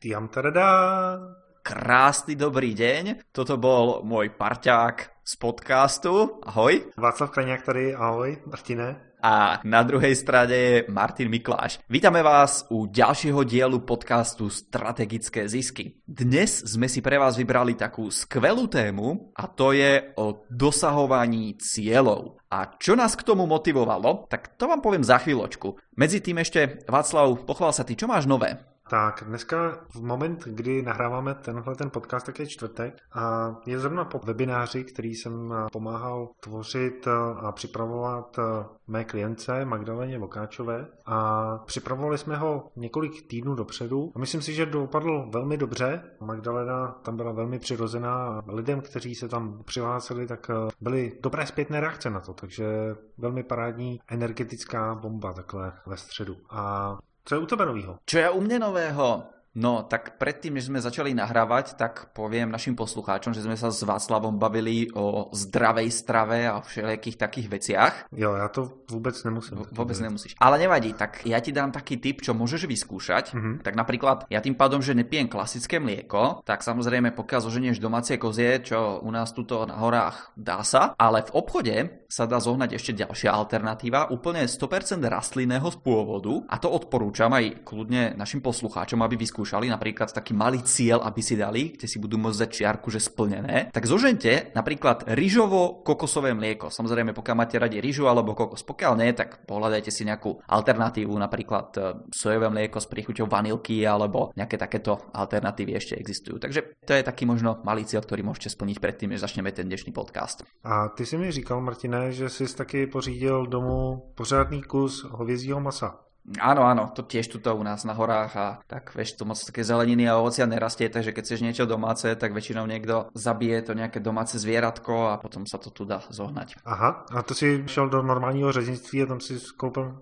Tiam tadadá. Krásny dobrý deň, toto bol môj parťák z podcastu, ahoj. Václav Krajňák tady, ahoj, Martine. A na druhej strane je Martin Mikláš. Vítame vás u ďalšieho dielu podcastu Strategické zisky. Dnes sme si pre vás vybrali takú skvelú tému a to je o dosahovaní cieľov. A čo nás k tomu motivovalo, tak to vám poviem za chvíľočku. Medzi tým ešte, Václav, pochvál sa ty, čo máš nové? Tak dneska v moment, kdy nahráváme ten podcast, tak je čtvrtek a je zrovna po webináři, který jsem pomáhal tvořit a připravovat mé klientce Magdaleně Vokáčové a připravovali jsme ho několik týdnů dopředu a myslím si, že dopadl velmi dobře. Magdalena tam byla velmi přirozená a lidem, kteří se tam přihlásili, tak byly dobré zpětné reakce na to, takže velmi parádní energetická bomba takhle ve středu. A co je u tebe novýho? Čo je u mne nového? No, tak predtým, než sme začali nahrávať, tak poviem našim poslucháčom, že sme sa s Václavom bavili o zdravej strave a všelijakých takých veciach. Jo, ja to vôbec nemusím. Vôbec nemusíš. Ale nevadí, tak ja ti dám taký tip, čo môžeš vyskúšať. Tak napríklad, ja tým pádom, že nepijem klasické mlieko, tak samozrejme, pokiaľ zoženieš domácie kozie, čo u nás tuto na horách dá sa, ale v obchode sa dá zohnať ešte ďalšia alternatíva, úplne 100% rastlinného pôvodu, a to odporúčam aj kľudne našim poslucháčom, aby vyskúšali napríklad taký malý cieľ, aby si dali, kde si budú môcť dať čiarku, že splnené. Tak zožente napríklad ryžovo-kokosové mlieko. Samozrejme, pokiaľ máte radi ryžu alebo kokos, pokiaľ nie, tak pohľadajte si nejakú alternatívu, napríklad sojové mlieko s príchuťou vanilky alebo nejaké takéto alternatívy ešte existujú. Takže to je taký možno malý cieľ, ktorý môžete splniť predtým, než začneme ten dnešný podcast. A ty si mi říkal, Martine, že jsi taky pořídil domů pořádný kus hovězího masa. Áno, to tiež tuto u nás na horách a tak vieš, to moc také zeleniny a ovocia nerastie, takže keď chceš niečo domáce, tak väčšinou niekto zabije to nejaké domáce zvieratko a potom sa to tu dá zohnať. Aha, a to si šel do normálního řeznictví a tam si koupil?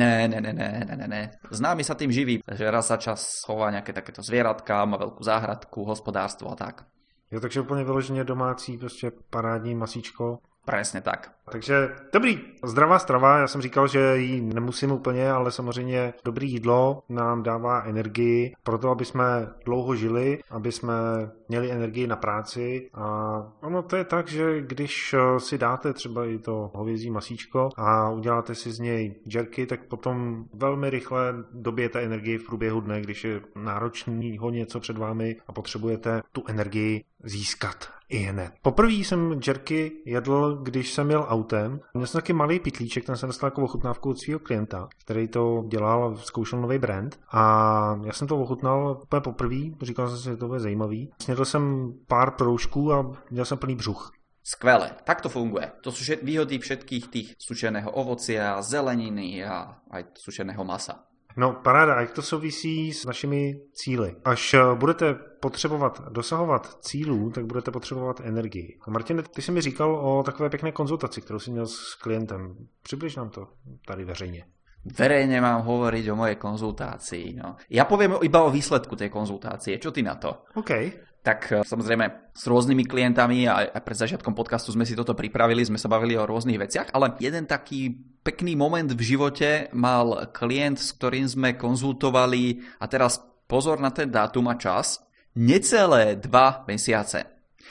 Ne. Známy sa tým živí, že raz za čas chová nejaké takéto zvieratka, má veľkú záhradku, hospodárstvo a tak. Jo, takže úplně vyloženě domácí, prostě parádní masíčko. Presne tak. Takže dobrý, zdravá strava, já jsem říkal, že ji nemusím úplně, ale samozřejmě dobré jídlo nám dává energii pro to, aby jsme dlouho žili, aby jsme měli energii na práci a ono to je tak, že když si dáte třeba i to hovězí masíčko a uděláte si z něj džerky, tak potom velmi rychle dobijete energii v průběhu dne, když je náročného něco před vámi a potřebujete tu energii získat i hned. Poprvé jsem džerky jedl, když jsem jel autem. Měl jsem taky malý pytlíček, ten jsem dostal jako ochutnávku od svého klienta, který to dělal, zkoušel nový brand a já jsem to ochutnal úplně poprvé, říkal jsem si, že to bude zajímavý. Snědl jsem pár proužků a měl jsem plný břuch. Skvelé, tak to funguje. To sú výhody všetkých tých sušeného ovocia, zeleniny a aj sušeného masa. No paráda, a jak to souvisí s našimi cíli? Až budete potřebovat dosahovat cílů, tak budete potřebovat energii. A Martin, ty jsi mi říkal o takové pěkné konzultaci, kterou jsi měl s klientem. Přibliž nám to tady veřejně. Verejne mám hovoriť o mojej konzultácii. No. Ja poviem iba o výsledku tej konzultácie. Čo ty na to? OK. Tak samozrejme s rôznymi klientami a pred začiatkom podcastu sme si toto pripravili, sme sa bavili o rôznych veciach, ale jeden taký pekný moment v živote mal klient, s ktorým sme konzultovali, a teraz pozor na ten dátum a čas, necelé 2 mesiace.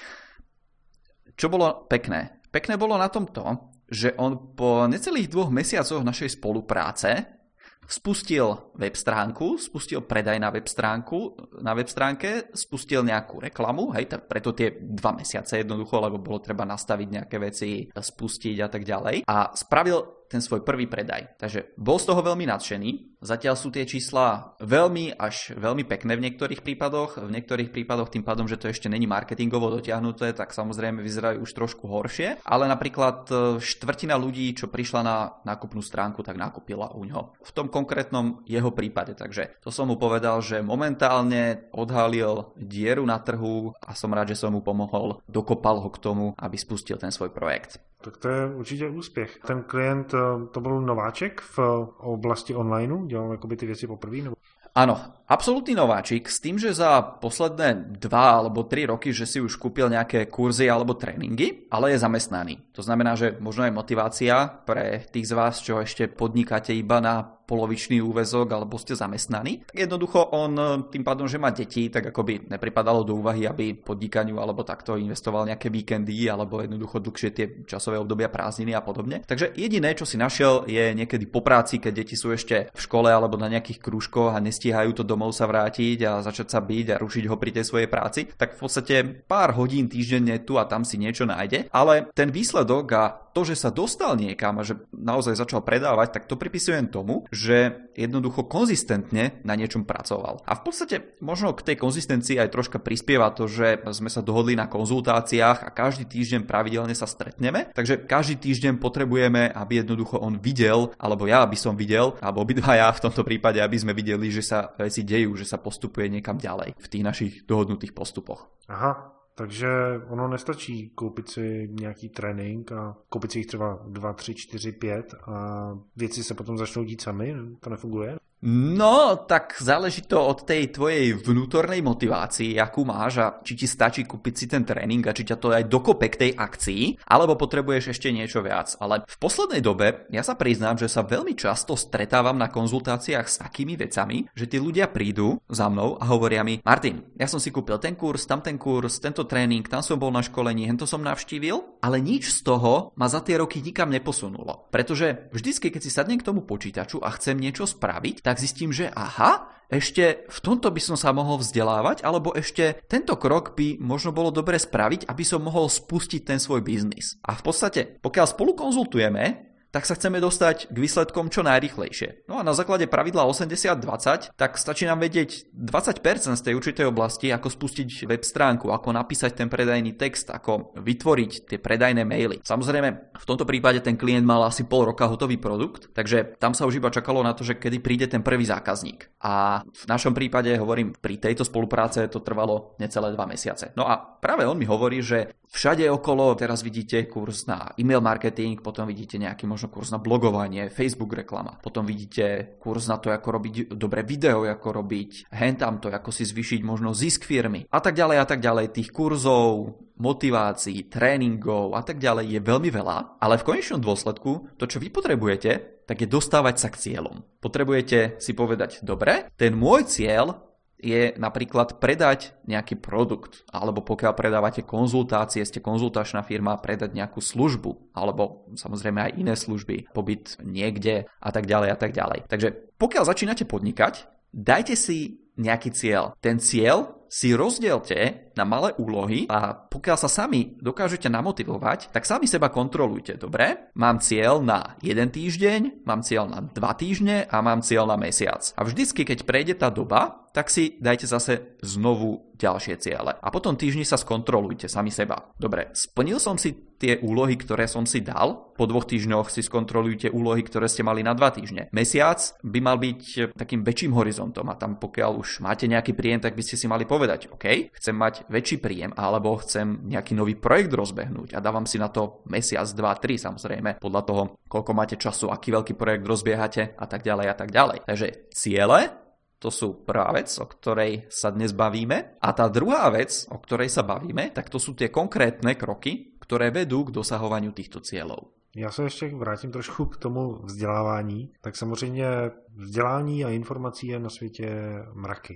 Čo bolo pekné? Pekné bolo na tom to, že on po necelých 2 mesiacoch našej spolupráce spustil web stránku, spustil predaj na web stránke, spustil nejakú reklamu, hej, tak preto tie 2 mesiace jednoducho, lebo bolo treba nastaviť nejaké veci, spustiť a tak ďalej. A spravil ten svoj prvý predaj. Takže bol z toho veľmi nadšený. Zatiaľ sú tie čísla veľmi až veľmi pekné v niektorých prípadoch. V niektorých prípadoch tým pádom, že to ešte není marketingovo dotiahnuté, tak samozrejme vyzerajú už trošku horšie. Ale napríklad štvrtina ľudí, čo prišla na nákupnú stránku, tak nakúpila u ňoho. V tom konkrétnom jeho prípade. Takže to som mu povedal, že momentálne odhalil dieru na trhu a som rád, že som mu pomohol, dokopal ho k tomu, aby spustil ten svoj projekt. Tak to je určitě úspěch. Ten klient, to byl nováček v oblasti online, dělal jakoby ty věci poprvé? Nebo... Áno, absolútny nováčik s tým, že za posledné 2 alebo 3 roky, že si už kúpil nejaké kurzy alebo tréningy, ale je zamestnaný. To znamená, že možno je motivácia pre tých z vás, čo ešte podnikáte iba na polovičný úväzok alebo ste zamestnaní, tak jednoducho on tým pádom, že má deti, tak ako by nepripadalo do úvahy, aby podnikaniu alebo takto investoval nejaké víkendy alebo jednoducho dlhšie tie časové obdobia prázdniny a podobne. Takže jediné, čo si našiel, je niekedy po práci, keď deti sú ešte v škole alebo na nejakých krúžkoch a nestíhajú to domov sa vrátiť a začať sa byť a rušiť ho pri tej svojej práci, tak v podstate pár hodín týždenne tu a tam si niečo nájde, ale ten výsledok a to, že sa dostal niekam a že naozaj začal predávať, tak to pripisujem tomu, že jednoducho konzistentne na niečom pracoval. A v podstate možno k tej konzistencii aj troška prispieva to, že sme sa dohodli na konzultáciách a každý týždeň pravidelne sa stretneme, takže každý týždeň potrebujeme, aby jednoducho on videl, alebo ja aby som videl, alebo obidvaja v tomto prípade, aby sme videli, že sa veci dejú, že sa postupuje niekam ďalej v tých našich dohodnutých postupoch. Aha. Takže ono nestačí koupit si nějaký trénink a koupit si jich třeba 2, 3, 4, 5 a věci se potom začnou dít sami, to nefunguje? No, tak záleží to od tej tvojej vnútornej motivácii, akú máš a či ti stačí kúpiť si ten tréning a či ťa to aj dokope k tej akcii, alebo potrebuješ ešte niečo viac. Ale v poslednej dobe ja sa priznám, že sa veľmi často stretávam na konzultáciách s takými vecami, že tí ľudia prídu za mnou a hovoria mi: Martin, ja som si kúpil ten kurz, tamten kurz, tento tréning, tam som bol na školení, hento som navštívil, ale nič z toho ma za tie roky nikam neposunulo. Pretože vždycky, keď si sadnem k tomu počítaču a chcem niečo spraviť, tak zistím, že aha, ešte v tomto by som sa mohol vzdelávať, alebo ešte tento krok by možno bolo dobre spraviť, aby som mohol spustiť ten svoj biznis. A v podstate, pokiaľ spolu konzultujeme, tak sa chceme dostať k výsledkom čo najrýchlejšie. No a na základe pravidla 80-20, tak stačí nám vedieť 20% z tej určitej oblasti, ako spustiť web stránku, ako napísať ten predajný text, ako vytvoriť tie predajné maily. Samozrejme, v tomto prípade ten klient mal asi pol roka hotový produkt, takže tam sa už iba čakalo na to, že kedy príde ten prvý zákazník. A v našom prípade, hovorím, pri tejto spolupráce to trvalo necelé 2 mesiace. No a práve on mi hovorí, že všade okolo teraz vidíte kurz na e-mail marketing, potom vidíte nejaký možno kurz na blogovanie, Facebook reklama, potom vidíte kurz na to, ako robiť dobré video, ako robiť hentamto, ako si zvýšiť možno zisk firmy a tak ďalej. Tých kurzov, motivácií, tréningov a tak ďalej je veľmi veľa, ale v konečnom dôsledku to, čo vy potrebujete, tak je dostávať sa k cieľom. Potrebujete si povedať: dobre, ten môj cieľ je napríklad predať nejaký produkt, alebo pokiaľ predávate konzultácie, ste konzultačná firma, predať nejakú službu, alebo samozrejme aj iné služby, pobyt niekde a tak ďalej. Takže pokiaľ začínate podnikať, dajte si nejaký cieľ. Ten cieľ si rozdielte na malé úlohy a pokiaľ sa sami dokážete namotivovať, tak sami seba kontrolujte, dobre? Mám cieľ na 1 týždeň, mám cieľ na 2 týždne a mám cieľ na mesiac. A vždycky, keď prejde tá doba, tak si dajte zase znovu ďalšie ciele. A potom týždni sa skontrolujte sami seba. Dobre, splnil som si tie úlohy, ktoré som si dal. Po 2 týždňoch si skontrolujte úlohy, ktoré ste mali na 2 týždne. Mesiac by mal byť takým väčším horizontom a tam pokiaľ už máte nejaký príjem, tak by ste si mali povedať: OK, chcem mať väčší príjem alebo chcem nejaký nový projekt rozbehnúť a dávam si na to mesiac, 2, 3 samozrejme, podľa toho, koľko máte času, aký veľký projekt rozbiehate a tak ďalej. Takže ciele, to sú prvá vec, o ktorej sa dnes bavíme. A tá druhá vec, o ktorej sa bavíme, tak to sú tie konkrétne kroky, ktoré vedú k dosahovaniu týchto cieľov. Já se ještě vrátím trošku k tomu vzdělávání. Tak samozřejmě vzdělání a informací je na světě mraky.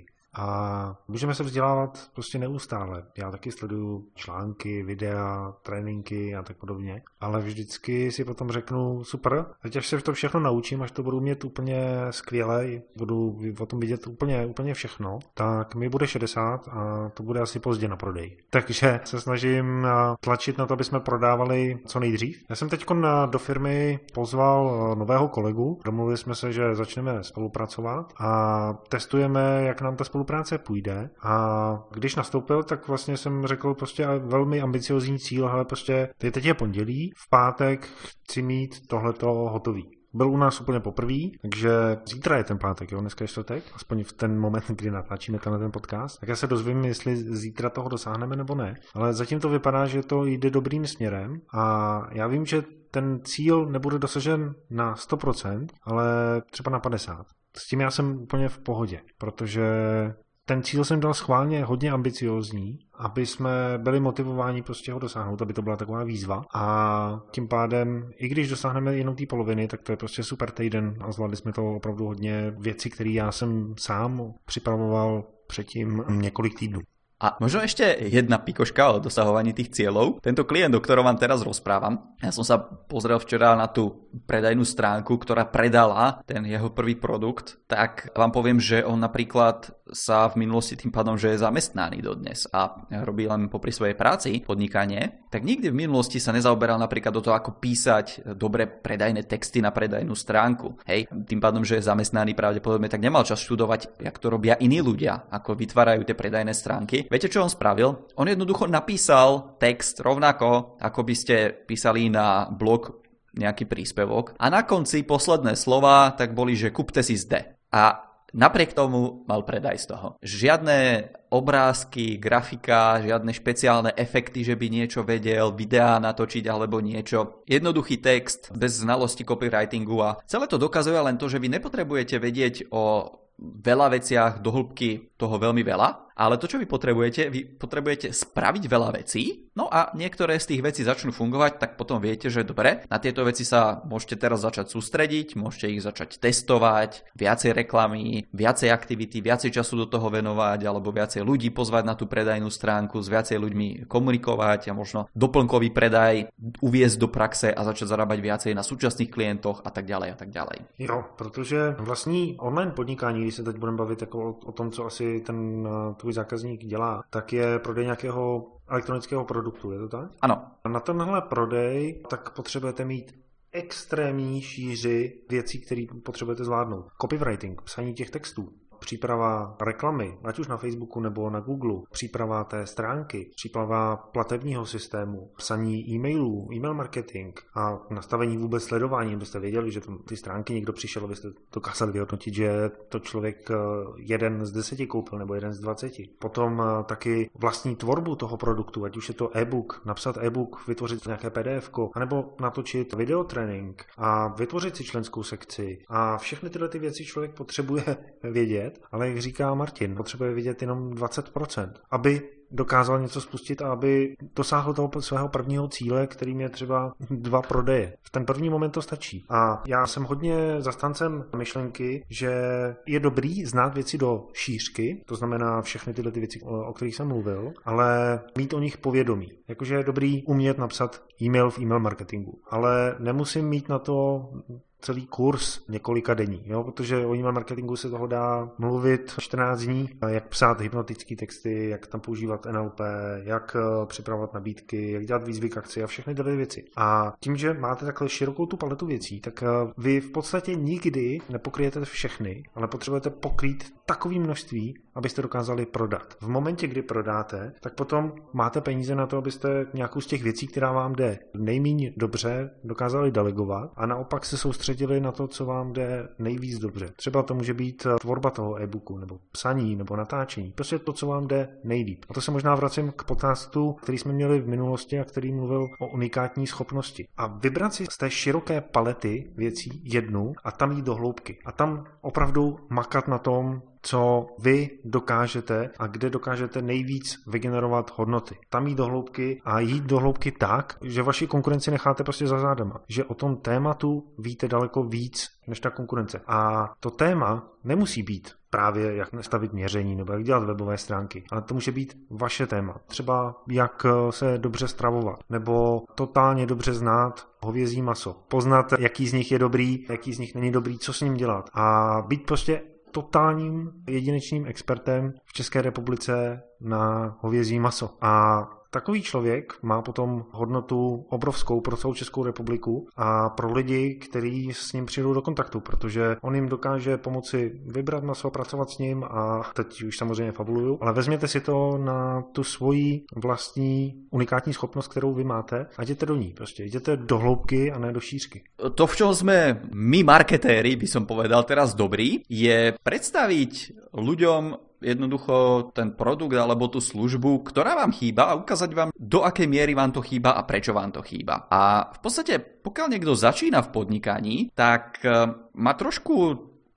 A můžeme se vzdělávat prostě neustále. Já taky sleduju články, videa, tréninky a tak podobně. Ale vždycky si potom řeknu: super, teď až se to všechno naučím, až to budu mít úplně skvěle, budu o tom vidět úplně všechno, tak mi bude 60 a to bude asi pozdě na prodej. Takže se snažím tlačit na to, aby jsme prodávali co nejdřív. Já jsem teď do firmy pozval nového kolegu, domluvili jsme se, že začneme spolupracovat a testujeme, jak nám ta spolupráce půjde. A když nastoupil, tak vlastně jsem řekl prostě velmi ambiciozní cíl, hele, prostě teď je pondělí, v pátek chci mít tohleto hotový. Byl u nás úplně poprvý, takže zítra je ten pátek, jo, dneska je čtvrtek, aspoň v ten moment, kdy natáčíme ten podcast. Tak já se dozvím, jestli zítra toho dosáhneme nebo ne. Ale zatím to vypadá, že to jde dobrým směrem a já vím, že ten cíl nebude dosažen na 100%, ale třeba na 50%. S tím já jsem úplně v pohodě, protože ten cíl jsem dal schválně hodně ambiciózní, aby jsme byli motivováni prostě ho dosáhnout, aby to byla taková výzva. A tím pádem, i když dosáhneme jenom té poloviny, tak to je prostě super týden a zvládli jsme to opravdu hodně věcí, které já jsem sám připravoval předtím několik týdnů. A možno ešte jedna pikoška o dosahovaní tých cieľov. Tento klient, o ktorom vám teraz rozprávam, ja som sa pozrel včera na tú predajnú stránku, ktorá predala ten jeho prvý produkt, tak vám poviem, že on napríklad sa v minulosti tým pádom, že je zamestnaný dodnes a robí len popri svojej práci podnikanie, tak nikdy v minulosti sa nezaoberal napríklad do toho, ako písať dobre predajné texty na predajnú stránku. Hej, tým pádom, že je zamestnaný pravdepodobne, tak nemal čas študovať, jak to robia iní ľudia, ako vytvárajú tie predajné stránky. Viete, čo on spravil? On jednoducho napísal text rovnako, ako by ste písali na blog nejaký príspevok a na konci posledné slova tak boli, že kupte si zde. A napriek tomu mal predaj z toho. Žiadne obrázky, grafika, žiadne špeciálne efekty, že by niečo vedel, videá natočiť alebo niečo. Jednoduchý text bez znalosti copywritingu a celé to dokazuje len to, že vy nepotrebujete vedieť o veľa veciach do hĺbky toho veľmi veľa, ale to, čo vy potrebujete spraviť veľa vecí, no a niektoré z tých vecí začnú fungovať, tak potom viete, že dobre, na tieto veci sa môžete teraz začať sústrediť, môžete ich začať testovať, viacej reklamy, viacej aktivity, viacej času do toho venovať, alebo viacej ľudí pozvať na tú predajnú stránku, s viacej ľuďmi komunikovať a možno doplnkový predaj uviesť do praxe a začať zarábať viacej na súčasných klientoch a tak ďalej a tak ďalej. Jo, protože vlastní online podnikání, když se teď budeme bavit jako o tom, co asi ten tvůj zákazník dělá, tak je prodej nějakého elektronického produktu, je to tak? Ano. Na tenhle prodej tak potřebujete mít extrémní šíři věcí, které potřebujete zvládnout. Copywriting, psaní těch textů, příprava reklamy, ať už na Facebooku nebo na Google, příprava té stránky, příprava platebního systému, psaní e-mailů, e-mail marketing a nastavení vůbec sledování, abyste věděli, že ty stránky někdo přišel, abyste dokázali vyhodnotit, že to člověk 1 z 10 koupil nebo 1 z 20. Potom taky vlastní tvorbu toho produktu, ať už je to e-book, napsat e-book, vytvořit nějaké PDF-ko, anebo natočit videotrénink a vytvořit si členskou sekci. A všechny tyhle ty věci člověk potřebuje vědět, ale jak říká Martin, potřebuje vidět jenom 20%, aby dokázal něco spustit a aby dosáhl toho svého prvního cíle, kterým je třeba 2 prodeje. V ten první moment to stačí. A já jsem hodně zastáncem myšlenky, že je dobrý znát věci do šířky, to znamená všechny tyhle ty věci, o kterých jsem mluvil, ale mít o nich povědomí. Jakože je dobrý umět napsat e-mail v e-mail marketingu, ale nemusím mít na to celý kurz několika denní, jo? Protože o e-mail marketingu se toho dá mluvit 14 dní, jak psát hypnotické texty, jak tam používat NLP, jak připravovat nabídky, jak dělat výzvy k akci a všechny tyhle věci. A tím, že máte takhle širokou tu paletu věcí, tak vy v podstatě nikdy nepokryjete všechny, ale potřebujete pokrýt takové množství, abyste dokázali prodat. V momentě, kdy prodáte, tak potom máte peníze na to, abyste nějakou z těch věcí, která vám jde nejméně dobře, dokázali delegovat a naopak se soustředili na to, co vám jde nejvíc dobře. Třeba to může být tvorba toho e-booku, nebo psaní, nebo natáčení. Prostě to, co vám jde nejlíp. A to se možná vracím k podcastu, který jsme měli v minulosti a který mluvil o unikátní schopnosti. A vybrat si z té široké palety věcí jednu a tam jít do hloubky. A tam opravdu makat na tom, co vy dokážete a kde dokážete nejvíc vygenerovat hodnoty. Tam jít do hloubky a jít do hloubky tak, že vaši konkurenci necháte prostě za zádama. Že o tom tématu víte daleko víc než ta konkurence. A to téma nemusí být právě jak nastavit měření nebo jak dělat webové stránky, ale to může být vaše téma. Třeba jak se dobře stravovat nebo totálně dobře znát hovězí maso. Poznat, jaký z nich je dobrý, jaký z nich není dobrý, co s ním dělat. A být prostě totálním jedinečným expertem v České republice na hovězí maso. A takový člověk má potom hodnotu obrovskou pro celou Českou republiku a pro lidi, kteří s ním přijdou do kontaktu, protože on jim dokáže pomoci vybrat maso, pracovat s ním a teď už samozřejmě fabuluju, ale vezměte si to na tu svoji vlastní unikátní schopnost, kterou vy máte a jděte do ní. Prostě jděte do hloubky a ne do šířky. To, v čom sme my marketéri, by som povedal teraz dobrý, je predstaviť ľuďom jednoducho ten produkt alebo tú službu, ktorá vám chýba a ukázať vám, do akej miery vám to chýba a prečo vám to chýba. A v podstate, pokiaľ niekto začína v podnikaní, tak má trošku, by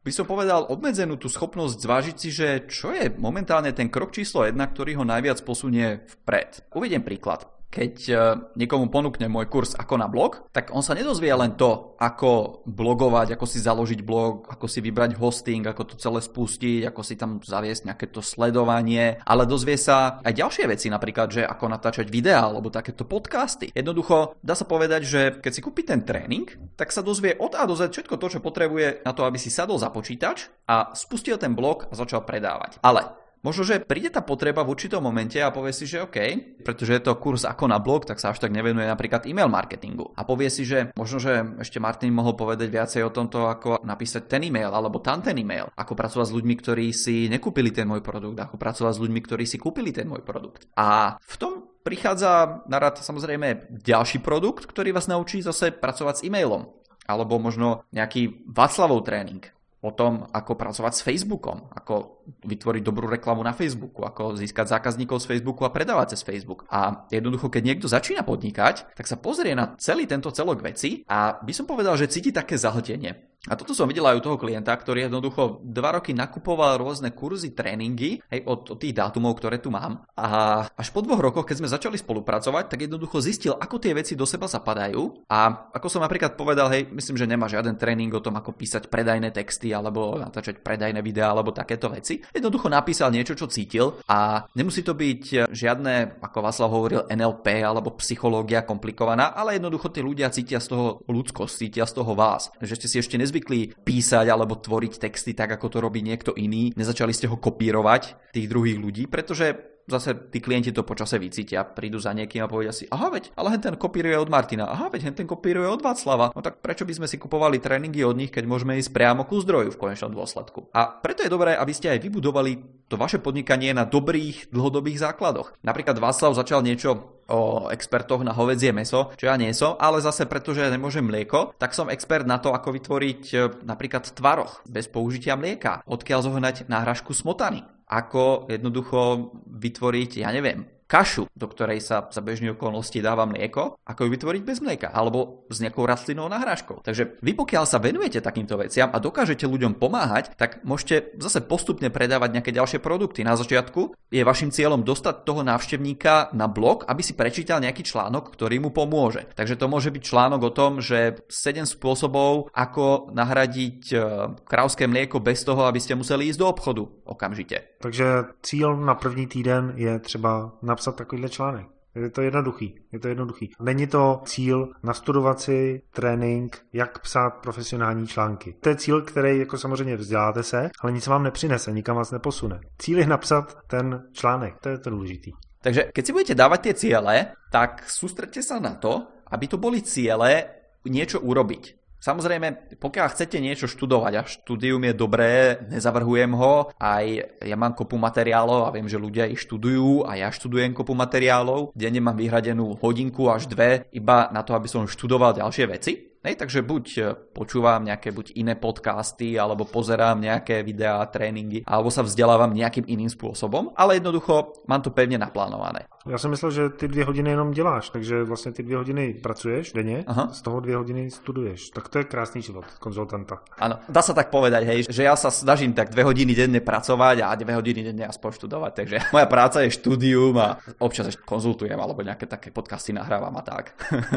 by som povedal, obmedzenú tú schopnosť zvážiť si, že čo je momentálne ten krok číslo 1, ktorý ho najviac posunie vpred. Uvediem príklad. Keď niekomu ponúkne môj kurz Ako na blog, tak on sa nedozvie len to, ako blogovať, ako si založiť blog, ako si vybrať hosting, ako to celé spustiť, ako si tam zaviesť nejaké to sledovanie, ale dozvie sa aj ďalšie veci, napríklad, že ako natáčať videá alebo takéto podcasty. Jednoducho, dá sa povedať, že keď si kúpi ten tréning, tak sa dozvie od A do Z všetko to, čo potrebuje na to, aby si sadol za počítač a spustil ten blog a začal predávať. Ale možno, že príde tá potreba v určitom momente a povie si, že OK, pretože je to kurz Ako na blog, tak sa až tak nevenuje napríklad e-mail marketingu. A povie si, že možno, že ešte Martin mohol povedať viacej o tomto, ako napísať ten e-mail alebo tam ten e-mail, ako pracovať s ľuďmi, ktorí si nekúpili ten môj produkt, ako pracovať s ľuďmi, ktorí si kúpili ten môj produkt. A v tom prichádza na rad samozrejme ďalší produkt, ktorý vás naučí zase pracovať s e-mailom. Alebo možno nejaký Václavov tréning o tom, ako pracovať s Facebookom, ako vytvoriť dobrú reklamu na Facebooku, ako získať zákazníkov z Facebooku a predávať cez Facebook. A jednoducho, keď niekto začína podnikať, tak sa pozrie na celý tento celok veci a by som povedal, že cíti také zahltenie. A toto som videl aj u toho klienta, ktorý jednoducho 2 roky nakupoval rôzne kurzy, tréningy, od tých dátumov, ktoré tu mám. A až po 2 rokoch, keď sme začali spolupracovať, tak jednoducho zistil, ako tie veci do seba zapadajú. A ako som napríklad povedal, myslím, že nemá žiaden tréning o tom, ako písať predajné texty alebo natáčať predajné videá alebo takéto veci. Jednoducho napísal niečo, čo cítil a nemusí to byť žiadne, ako Václav hovoril, NLP alebo psychológia komplikovaná, ale jednoducho tí ľudia cítia z toho ľudskosť, cítia z toho vás, že ste si ešte nezvykli písať alebo tvoriť texty tak, ako to robí niekto iný. Nezačali ste ho kopírovať, tých druhých ľudí, pretože zase tí klienti to počase vycítia, prídu za niekým a povedia si, aha veď, ale ten kopíruje od Martina, aha veď, ten kopíruje od Václava. No tak prečo by sme si kupovali tréningy od nich, keď môžeme ísť priamo ku zdroju v konečnom dôsledku. A preto je dobré, aby ste aj vybudovali to vaše podnikanie na dobrých dlhodobých základoch. Napríklad Václav začal niečo o expertoch na hovädzie mäso, čo ja nie som, ale zase pretože nemôžem mlieko, tak som expert na to, ako vytvoriť napríklad tvaroh bez použitia mlieka, odkiaľ zohnať náhražku smotany, ako jednoducho vytvoriť, ja neviem, kašu, do ktorej sa za bežných okolností dáva mlieko, ako ju vytvoriť bez mlieka, alebo s nejakou rastlinnou nahrážkou. Takže vy pokiaľ sa venujete takýmto veciam a dokážete ľuďom pomáhať, tak môžete zase postupne predávať nejaké ďalšie produkty. Na začiatku je vašim cieľom dostať toho návštevníka na blog, aby si prečítal nejaký článok, ktorý mu pomôže. Takže to môže byť článok o tom, že 7 spôsobov, ako nahradiť krávské mlieko bez toho, aby ste museli ísť do obchodu okamžite. Takže cíl na první týden je třeba napsat takovýhle článek. Je to jednoduchý. Není to cíl nastudovat si trénink, jak psát profesionální články. To je cíl, který jako samozřejmě vzděláte se, ale nic vám nepřinese, nikam vás neposune. Cíl je napsat ten článek, to je to důležitý. Takže keď si budete dávať tie ciele, tak sústredte sa na to, aby to boli ciele niečo urobiť. Samozrejme, pokiaľ chcete niečo študovať a štúdium je dobré, nezavrhujem ho, aj ja mám kopu materiálov a viem, že ľudia ich študujú a ja študujem kopu materiálov, denne mám vyhradenú hodinku až 2 iba na to, aby som študoval ďalšie veci. Takže buď počúvam nejaké iné podcasty, alebo pozerám nejaké videá, tréningy, alebo sa vzdelávam nejakým iným spôsobom, ale jednoducho mám to pevne naplánované. Já jsem myslel, že ty 2 hodiny jenom děláš, takže vlastně ty 2 hodiny pracuješ denně, z toho 2 hodiny studuješ. Tak to je krásný život konzultanta. Áno, dá sa tak povedať, že ja sa snažím tak 2 hodiny denne pracovať a 2 hodiny denne aspoň študovať, takže moja práca je štúdium a občas ešte konzultujem, alebo nejaké také podcasty nahrávam a tak.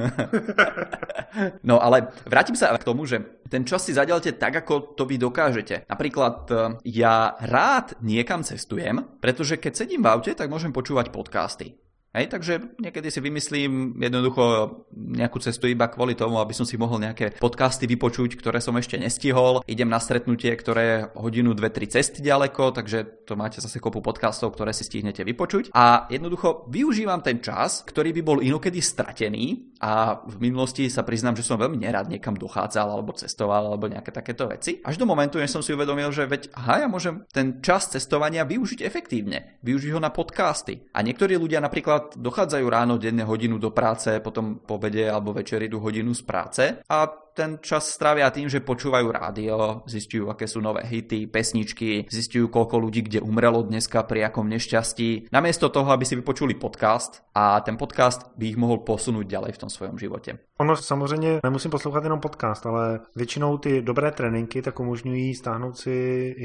No ale vrátim sa k tomu, že ten čas si zadelte tak, ako to vy dokážete. Napríklad ja rád niekam cestujem, pretože keď sedím v aute, tak môžem počúvať podcasty. Takže niekedy si vymyslím jednoducho nejakú cestu iba kvôli tomu, aby som si mohol nejaké podcasty vypočuť, ktoré som ešte nestihol. Idem na stretnutie, ktoré je hodinu, 2-3 cesty ďaleko, takže to máte zase kopu podcastov, ktoré si stihnete vypočuť. A jednoducho využívam ten čas, ktorý by bol inokedy stratený a v minulosti sa priznám, že som veľmi nerad niekam dochádzal alebo cestoval alebo nejaké takéto veci. Až do momentu, než som si uvedomil, že ja môžem ten čas cestovania využiť efektívne. Využiť ho na podcasty. A niektorí ľudia napríklad dochádzajú ráno denne hodinu do práce, potom po obede alebo večer idú hodinu z práce a ten čas strávia tým, že počúvajú rádio, zistujú, aké sú nové hity, pesničky, zistujú, koľko ľudí kde umrelo dneska pri akom nešťastí, namiesto toho, aby si vypočuli podcast a ten podcast by ich mohol posunúť ďalej v tom svojom životě. Ono samozřejmě nemusím poslouchat jenom podcast, ale většinou ty dobré tréninky tak umožňují stáhnout si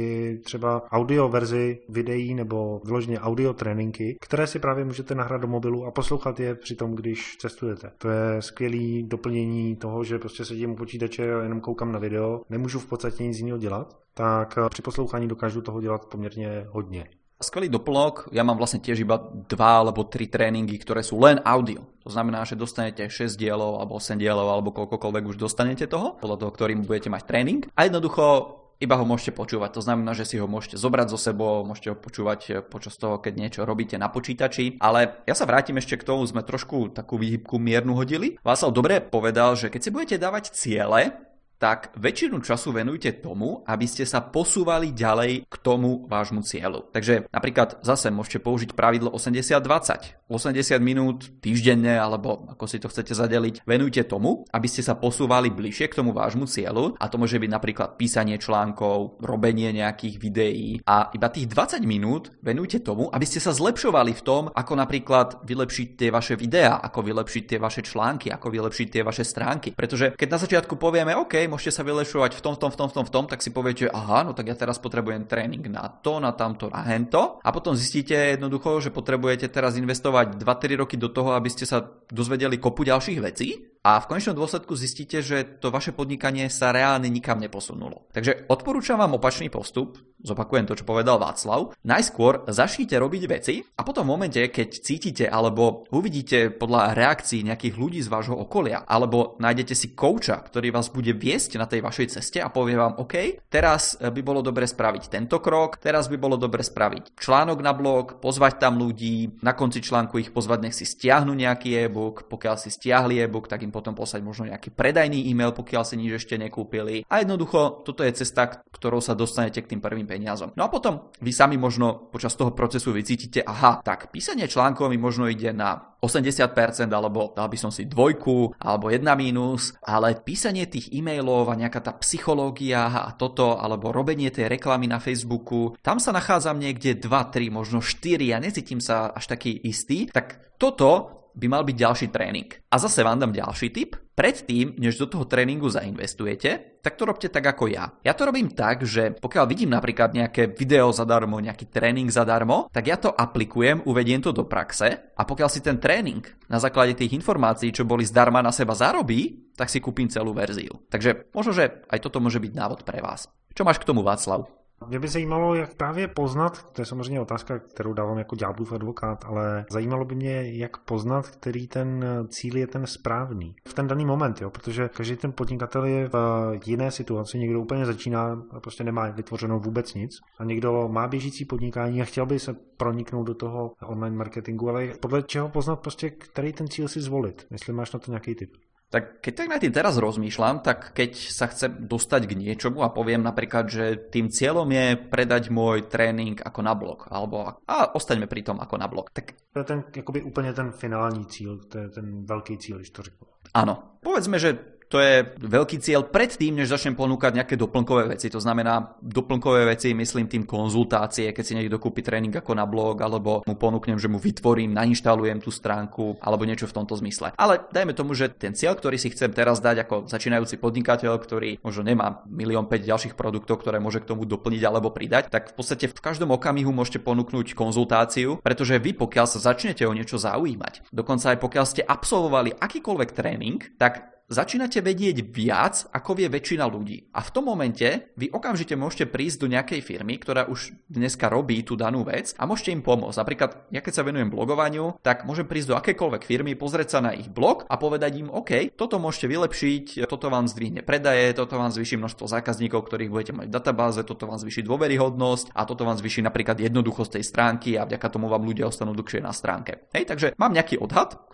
i třeba audio verzi videí nebo vyloženě audio tréninky, které si právě můžete nahrát do mobilu a poslouchat je při tom, když cestujete. To je skvělý doplnění toho, že prostě sedím u počítače a jenom koukám na video, nemůžu v podstatě nic jiného dělat, tak při poslouchání dokážu toho dělat poměrně hodně. Skvelý doplnok, ja mám vlastne tiež iba 2 alebo 3 tréningy, ktoré sú len audio. To znamená, že dostanete 6 dielov alebo 8 dielov alebo koľkokoľvek už dostanete toho, podľa toho, ktorým budete mať tréning. A jednoducho iba ho môžete počúvať. To znamená, že si ho môžete zobrať so sebou, môžete ho počúvať počas toho, keď niečo robíte na počítači. Ale ja sa vrátim ešte k tomu, sme trošku takú výhybku miernu hodili. Václav dobre povedal, že keď si budete dávať ciele, tak väčšinu času venujte tomu, aby ste sa posúvali ďalej k tomu vášmu cieľu. Takže napríklad zase môžete použiť pravidlo 80-20. 80 minút týždenne, alebo ako si to chcete zadeliť, venujte tomu, aby ste sa posúvali bližšie k tomu vášmu cieľu. A to môže byť napríklad písanie článkov, robenie nejakých videí. A iba tých 20 minút venujte tomu, aby ste sa zlepšovali v tom, ako napríklad vylepšiť tie vaše videá, ako vylepšiť tie vaše články, ako vylepšiť tie vaše stránky. Pretože keď na začiatku povieme, OK, môžete sa vylepšovať v tom, tak si poviete, aha, no tak ja teraz potrebujem tréning na to, na tamto, na hento. A potom zistíte jednoducho, že potrebujete teraz investovať 2-3 roky do toho, aby ste sa dozvedeli kopu ďalších vecí. A v konečnom dôsledku zistíte, že to vaše podnikanie sa reálne nikam neposunulo. Takže odporúčam vám opačný postup, zopakujem to, čo povedal Václav. Najskôr začnite robiť veci a potom v momente, keď cítite alebo uvidíte podľa reakcií nejakých ľudí z vášho okolia alebo nájdete si kouča, ktorý vás bude viesť na tej vašej ceste a povie vám, OK, teraz by bolo dobre spraviť tento krok, teraz by bolo dobre spraviť článok na blog, pozvať tam ľudí, na konci článku ich pozvať, nech si stiahnu nejaký e-book, pokiaľ si stiahli e-book, tak im potom poslať možno nejaký predajný e-mail, pokiaľ si nič ešte nekúpili. A jednoducho, toto je cesta, ktorou sa dostanete k tým prvým peniazom. No a potom vy sami možno počas toho procesu vycítite, aha, tak písanie článkov mi možno ide na 80%, alebo dal by som si 2, alebo 1 mínus, ale písanie tých e-mailov a nejaká tá psychológia a toto, alebo robenie tej reklamy na Facebooku, tam sa nachádzam niekde 2, 3, možno 4, ja necítim sa až taký istý, tak toto by mal byť ďalší tréning. A zase vám dám ďalší tip. Predtým, než do toho tréningu zainvestujete, tak to robte tak ako ja. Ja to robím tak, že pokiaľ vidím napríklad nejaké video zadarmo, nejaký tréning zadarmo, tak ja to aplikujem, uvediem to do praxe a pokiaľ si ten tréning na základe tých informácií, čo boli zdarma, na seba zarobí, tak si kúpim celú verziu. Takže možno, že aj toto môže byť návod pre vás. Čo máš k tomu, Václav? Mě by zajímalo, jak právě poznat, to je samozřejmě otázka, kterou dávám jako ďáblův advokát, ale zajímalo by mě, jak poznat, který ten cíl je ten správný v ten daný moment, jo? Protože každý ten podnikatel je v jiné situaci, někdo úplně začíná a prostě nemá vytvořeno vůbec nic a někdo má běžící podnikání a chtěl by se proniknout do toho online marketingu, ale podle čeho poznat prostě, který ten cíl si zvolit, jestli máš na to nějaký tip. Tak keď tak na tým teraz rozmýšľam, tak keď sa chcem dostať k niečomu a poviem napríklad, že tým cieľom je predať môj tréning ako na blog, alebo a ostaňme pri tom ako na blog. Tak to je ten, jakoby úplně ten finální cíl, to je ten velký cíl, když to řeknu. Áno, povedzme, že to je veľký cieľ predtým, než začnem ponúkať nejaké doplnkové veci. To znamená, doplnkové veci myslím tým konzultácie, keď si niekto kúpi tréning ako na blog, alebo mu ponúknem, že mu vytvorím, nainštalujem tú stránku, alebo niečo v tomto zmysle. Ale dajme tomu, že ten cieľ, ktorý si chcem teraz dať ako začínajúci podnikateľ, ktorý možno nemá 1,5 milióna ďalších produktov, ktoré môže k tomu doplniť alebo pridať, tak v podstate v každom okamihu môžete ponúknuť konzultáciu, pretože vy pokiaľ sa začnete o niečo zaujímať, dokonca aj pokiaľ ste absolvovali akýkoľvek tréning, tak začínate vedieť viac, ako vie väčšina ľudí. A v tom momente vy okamžite môžete prísť do nejakej firmy, ktorá už dneska robí tú danú vec a môžete im pomôcť. Napríklad, ja keď sa venujem blogovaniu, tak môžem prísť do akékoľvek firmy, pozrieť sa na ich blog a povedať im, OK, toto môžete vylepšiť, toto vám zdvihne predaje, toto vám zvýši množstvo zákazníkov, ktorých budete mať v databáze, toto vám zvýši dôveryhodnosť a toto vám zvýši napríklad jednoduchosť tej stránky a vďaka tomu vám ľudia ostanú dlhšie na stránke. Hej, takže mám nejaký odhad,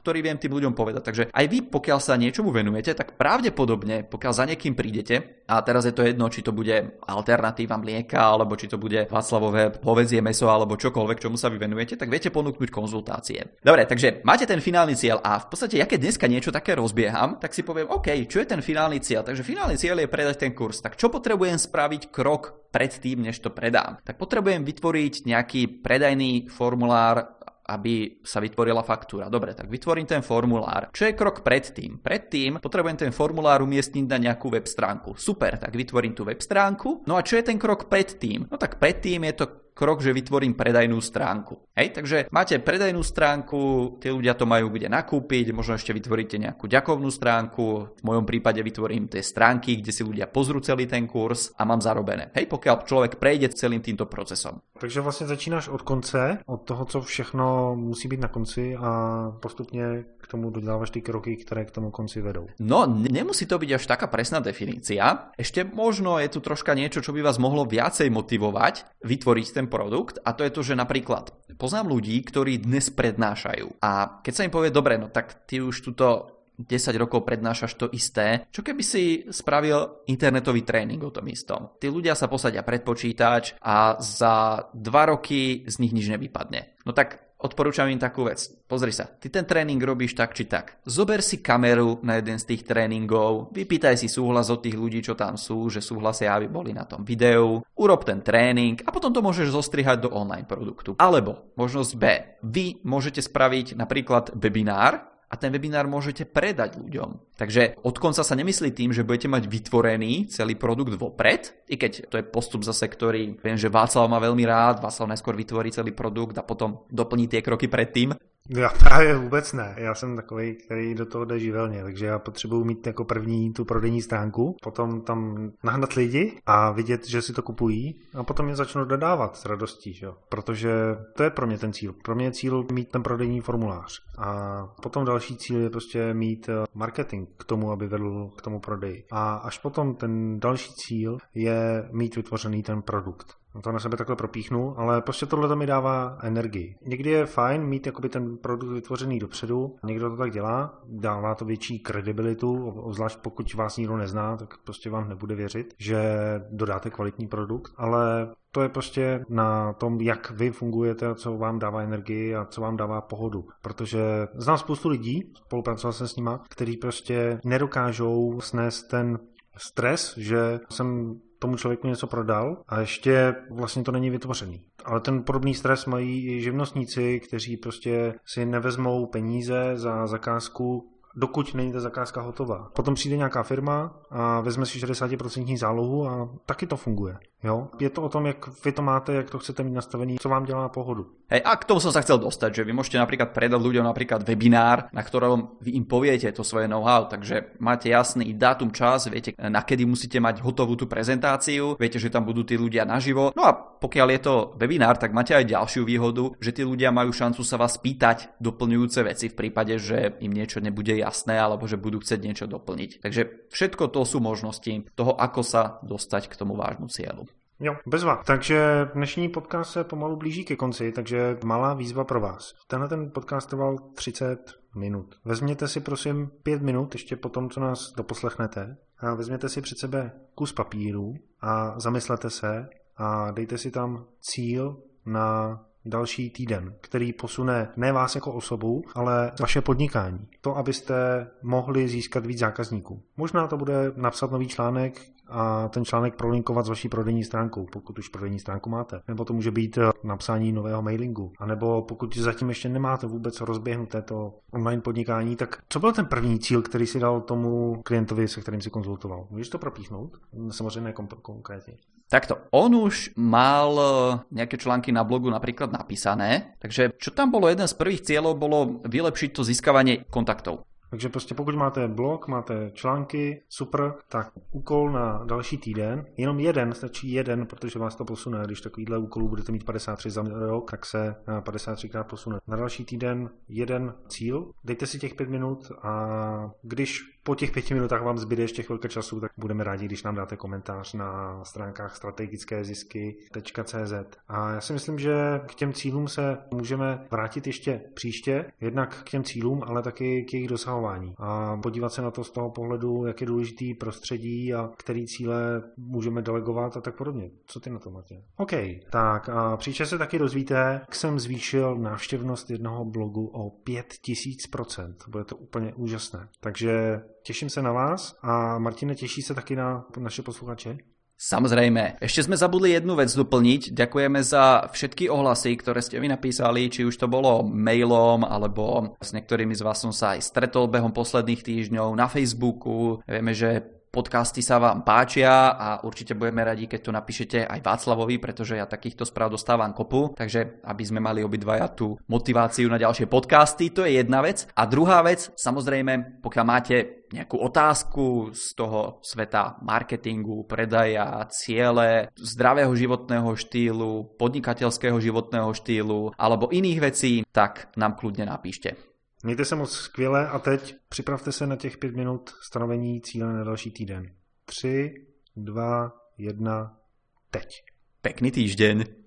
ktorý viem tým ľuďom povedať. Takže aj vy, pokiaľ sa niečomu venujete, tak pravdepodobne, pokiaľ za niekým prídete, a teraz je to jedno, či to bude alternatíva mlieka, alebo či to bude Václavové hovädzie mäso, alebo čokoľvek, čomu sa vy venujete, tak viete ponúknuť konzultácie. Dobre, takže máte ten finálny cieľ a v podstate, ja keď dneska niečo také rozbieham, tak si poviem, OK, čo je ten finálny cieľ? Takže finálny cieľ je predať ten kurz. Tak čo potrebujem spraviť krok predtým, než to predám? Tak potrebujem vytvoriť nejaký predajný formulár, aby sa vytvorila faktúra. Dobre, tak vytvorím ten formulár. Čo je krok predtým? Predtým potrebujem ten formulár umiestniť na nejakú web stránku. Super, tak vytvorím tú web stránku. No a čo je ten krok predtým? No tak predtým je to krok, že vytvorím predajnú stránku. Hej, takže máte predajnú stránku, tí ľudia to majú kde nakúpiť, možno ešte vytvoríte nejakú ďakovnú stránku, v mojom prípade vytvorím tie stránky, kde si ľudia pozrú celý ten kurz a mám zarobené. Hej, pokiaľ človek prejde celým týmto procesom. Takže vlastně začínáš od konce, od toho, co všechno musí být na konci a postupně k tomu dodávaš ty kroky, které k tomu konci vedou. No, nemusí to byť až taká presná definícia. Ešte možno je tu troška niečo, čo by vás mohlo viacej motivovať vytvoriť ten produkt, a to je to, že napríklad poznám ľudí, ktorí dnes prednášajú a keď sa im povie, dobre, no tak ty už tuto 10 rokov prednášaš to isté, čo keby si spravil internetový tréning o tom istom. Tí ľudia sa posadia pred počítač a za 2 roky z nich nič nevypadne. No tak odporúčam im takú vec. Pozri sa, ty ten tréning robíš tak či tak. Zober si kameru na jeden z tých tréningov, vypýtaj si súhlas od tých ľudí, čo tam sú, že súhlasia, aby boli na tom videu, urob ten tréning a potom to môžeš zostrihať do online produktu. Alebo možnosť B. Vy môžete spraviť napríklad webinár, a ten webinár môžete predať ľuďom. Takže od konca sa nemyslí tým, že budete mať vytvorený celý produkt vopred, i keď to je postup zase, ktorý viem, že Václav má veľmi rád, Václav najskôr vytvorí celý produkt a potom doplní tie kroky predtým. Já právě vůbec ne. Já jsem takový, který do toho jde živelně, takže já potřebuji mít jako první tu prodejní stránku, potom tam nahnat lidi a vidět, že si to kupují a potom je začnu dodávat s radostí, že? Protože to je pro mě ten cíl. Pro mě je cíl mít ten prodejní formulář a potom další cíl je prostě mít marketing k tomu, aby vedl k tomu prodeji. A až potom ten další cíl je mít vytvořený ten produkt. To na sebe takhle propíchnu, ale prostě tohle mi dává energii. Někdy je fajn mít jakoby ten produkt vytvořený dopředu, někdo to tak dělá, dává to větší kredibilitu, zvlášť pokud vás nikdo nezná, tak prostě vám nebude věřit, že dodáte kvalitní produkt, ale to je prostě na tom, jak vy fungujete, co vám dává energii a co vám dává pohodu. Protože znám spoustu lidí, spolupracoval jsem s nima, kteří prostě nedokážou snést ten stres, že jsem tomu člověku něco prodal a ještě vlastně to není vytvořený. Ale ten podobný stres mají i živnostníci, kteří prostě si nevezmou peníze za zakázku, dokud není ta zakázka hotová. Potom přijde nějaká firma a vezme si 60% zálohu a taky to funguje. Jo? Je to o tom, jak vy to máte, jak to chcete mít nastavený, co vám dělá pohodu. Hej, a k tomu som sa chcel dostať, že vy môžete napríklad predať ľuďom napríklad webinár, na ktorom vy im poviete to svoje know-how, takže máte jasný dátum, čas, viete, na kedy musíte mať hotovú tú prezentáciu, viete, že tam budú tí ľudia naživo. No a pokiaľ je to webinár, tak máte aj ďalšiu výhodu, že tí ľudia majú šancu sa vás pýtať doplňujúce veci v prípade, že im niečo nebude jasné alebo že budú chcieť niečo doplniť. Takže všetko to sú možnosti toho, ako sa dostať k tomu vážnu cieľu. Jo, bezva. Takže dnešní podcast se pomalu blíží ke konci, takže malá výzva pro vás. Tenhle ten podcast trval 30 minut. Vezměte si prosím 5 minut ještě po tom, co nás doposlechnete a vezměte si před sebe kus papíru a zamyslete se a dejte si tam cíl na další týden, který posune ne vás jako osobu, ale vaše podnikání. To, abyste mohli získat víc zákazníků. Možná to bude napsat nový článek a ten článek prolinkovat s vaší prodejní stránkou, pokud už prodejní stránku máte. Nebo to může být napsání nového mailingu. A nebo pokud zatím ještě nemáte vůbec rozběhnuté to online podnikání, tak co byl ten první cíl, který si dal tomu klientovi, se kterým si konzultoval? Můžeš to propíchnout? Samozřejmě konkrétně. Takto, on už mal nejaké články na blogu napríklad napísané, takže čo tam bolo, jeden z prvých cieľov bolo vylepšiť to získavanie kontaktov. Takže prostě pokud máte blog, máte články, super, tak úkol na další týden, jenom jeden, stačí jeden, protože vás to posune. Když takovýhle úkolů budete mít 53 za rok, tak se 53krát posune. Na další týden jeden cíl, dejte si těch 5 minut a když po těch 5 minutách vám zbyde ještě chvilka času, tak budeme rádi, když nám dáte komentář na stránkách strategickézisky.cz. A já si myslím, že k těm cílům se můžeme vrátit ještě příště, jednak k těm cílům, ale taky k jejich dosahování. A podívat se na to z toho pohledu, jak je důležitý prostředí a který cíle můžeme delegovat a tak podobně. Co ty na to, Martin? OK, tak a příště se taky dozvíte, jak jsem zvýšil návštěvnost jednoho blogu o 5000%. Bude to úplně úžasné. Takže těším se na vás a Martine, těší se taky na naše posluchače? Samozrejme. Ešte sme zabudli jednu vec doplniť. Ďakujeme za všetky ohlasy, ktoré ste mi napísali, či už to bolo mailom, alebo s niektorými z vás som sa aj stretol behom posledných týždňov na Facebooku. Vieme, že podcasty sa vám páčia a určite budeme radi, keď to napíšete aj Václavovi, pretože ja takýchto správ dostávam kopu, takže aby sme mali obidvaja tú motiváciu na ďalšie podcasty, to je jedna vec. A druhá vec, samozrejme, pokiaľ máte nejakú otázku z toho sveta marketingu, predaja, ciele, zdravého životného štýlu, podnikateľského životného štýlu alebo iných vecí, tak nám kľudne napíšte. Mějte se moc skvěle a teď připravte se na těch 5 minut stanovení cíle na další týden. 3, 2, 1, teď. Pekný týždeň.